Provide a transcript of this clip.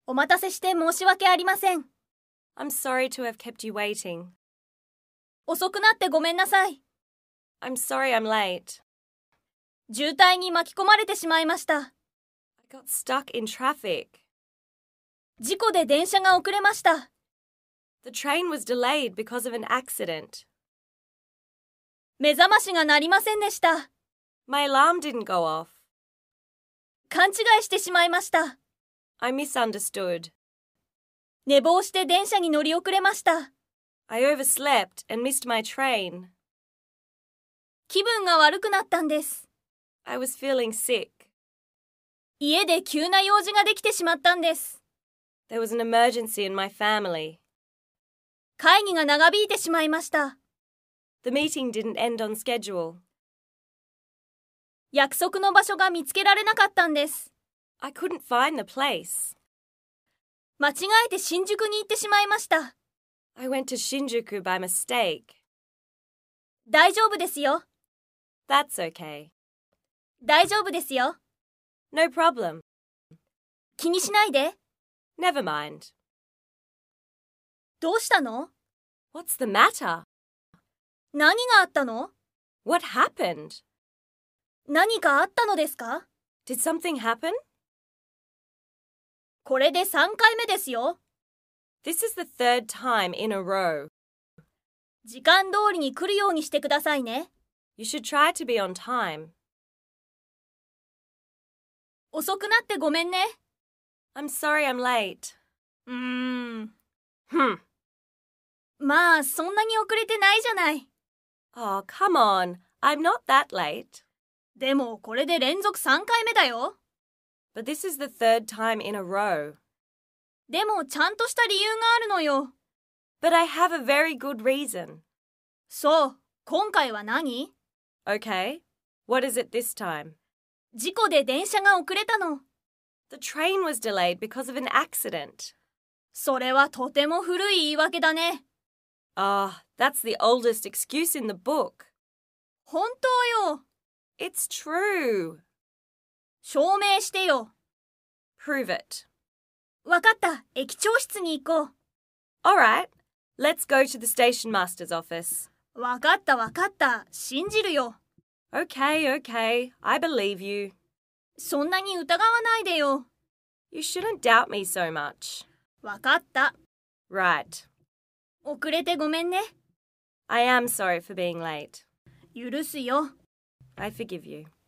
お待たせして申し訳ありません。 I'm sorry to have kept you waiting. 遅くなってごめんなさい。 I'm sorry I'm late. 渋滞に巻き込まれてしまいました。 I got stuck in traffic. 事故で電車が遅れました。 The train was delayed because of an accident. 目覚ましが鳴りませんでした。 My alarm didn't go off. 勘違いしてしまいました。 I misunderstood. 寝坊して電車に乗り遅れました。 I overslept and missed my train. 気分が悪くなったんです。 I was feeling sick. 家で急な用事ができてしまったんです。 There was an emergency in my family. 会議が長引いてしまいました。 The meeting didn't end on schedule. 約束の場所が見つけられなかったんです。 I couldn't find the place. 間違えて新宿に行ってしまいました。 I went to Shinjuku by mistake. 大丈夫ですよ。 That's okay. 大丈夫ですよ。 No problem. 気にしないで。 Never mind. どうしたの？ What's the matter? 何があったの？ What happened? 何かあったのですか？ Did something happen? これで3回目ですよ。 This is the third time in a row. 時間通りに来るようにしてくださいね。 You should try to be on time. 遅くなってごめんね。 I'm sorry I'm late. まあ、そんなに遅れてないじゃない。 Oh, come on. I'm not that late. でも、これで連続3回目だよ。 But this is the third time in a row. でも、ちゃんとした理由があるのよ。 But I have a very good reason. そう、今回は何？ Okay. What is it this time? 事故で電車が遅れたの。 The train was delayed because of an accident. それはとても古い言い訳だね。 Ah, that's the oldest excuse in the book. 本当よ。 It's true. 証明してよ。 Prove it. わかった。駅長室に行こう。 All right. Let's go to the station master's office. わかったわかった。信じるよ。 Okay, okay. I believe you. そんなに疑わないでよ。 You shouldn't doubt me so much. わかった。 Right. 遅れてごめんね。 I am sorry for being late. 許すよ。 I forgive you.